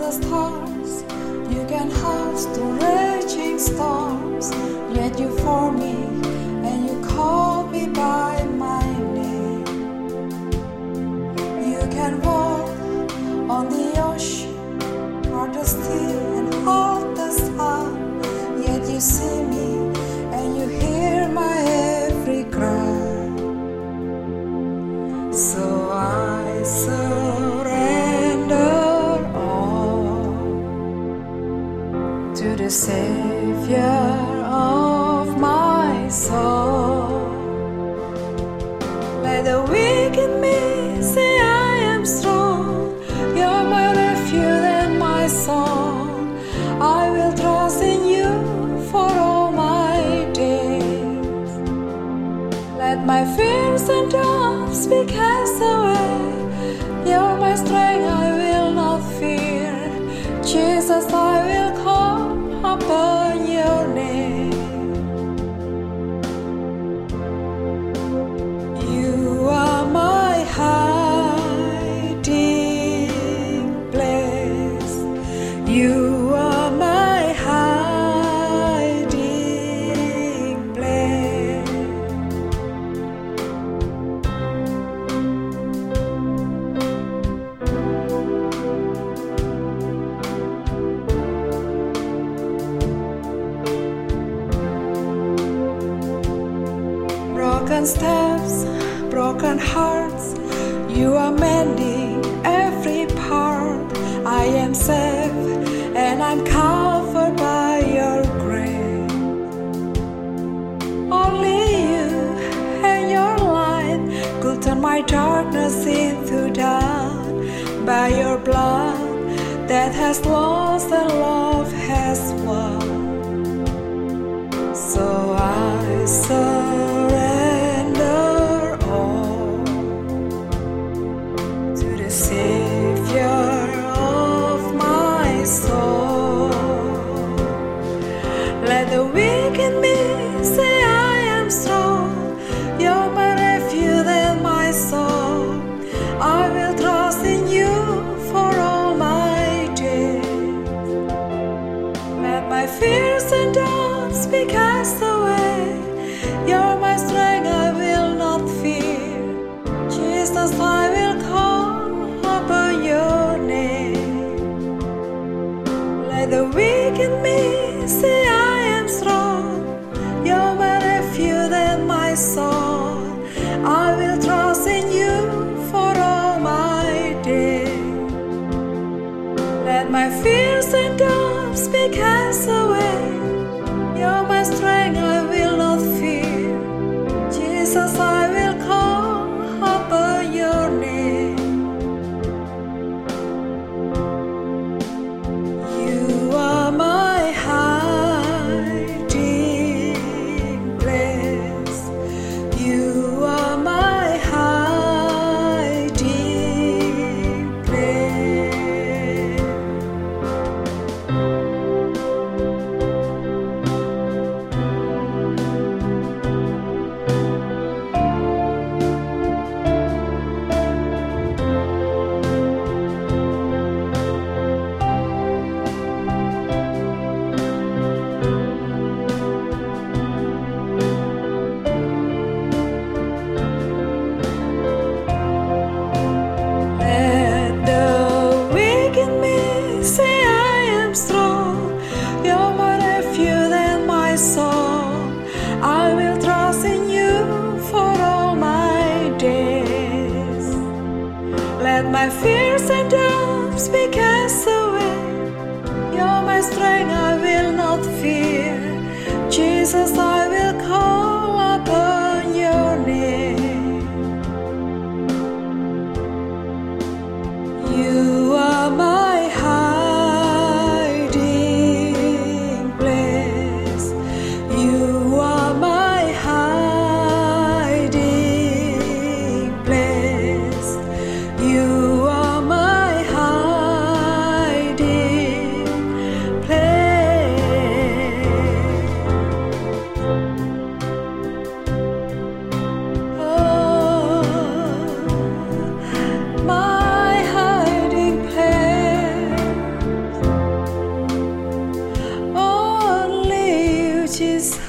the stars, you can house the raging storms. Yet you for me, and you call me by my name. You can walk on the ocean, or the sea, and hold the sun. Yet you see me, and you hear my every cry. So I surrender all to the Savior of my soul. Let the weak in me say I am strong. You're my refuge and my song. I will trust in you for all my days. Let my fears and doubts be cast away. You're my strength, I will not fear. Jesus, I will call upon your name. You are my hiding place. You are my hiding place. Broken steps, broken hearts, you are mending every part. I am safe and I'm covered by your grace. Only you and your light could turn my darkness into dawn. By your blood, death has lost and love has won. So I surrender all to the Savior of my soul. Let the weak in me say I am strong. You're my refuge and my soul. I will trust in you for all my days. Let my fears and doubts be cast away. You're my strength, I will not fear. Jesus, I will call upon your name. Let the weak in me say I am strong. You're my refuge and my soul. I will trust in you for all my days. Let my fears and doubts be cast away. You're my strength, I will not fear. Jesus, I will call upon your name. You are my hiding place. You are my hiding place. Let the weak in me say I am strong. You're my refuge and my song. I will trust in you for all my days. Let my fears and doubts be cast away. You're my strength, I will not fear. Jesus, I will call upon your name. You are my hiding place. You are my hiding place. You are my hiding place. which is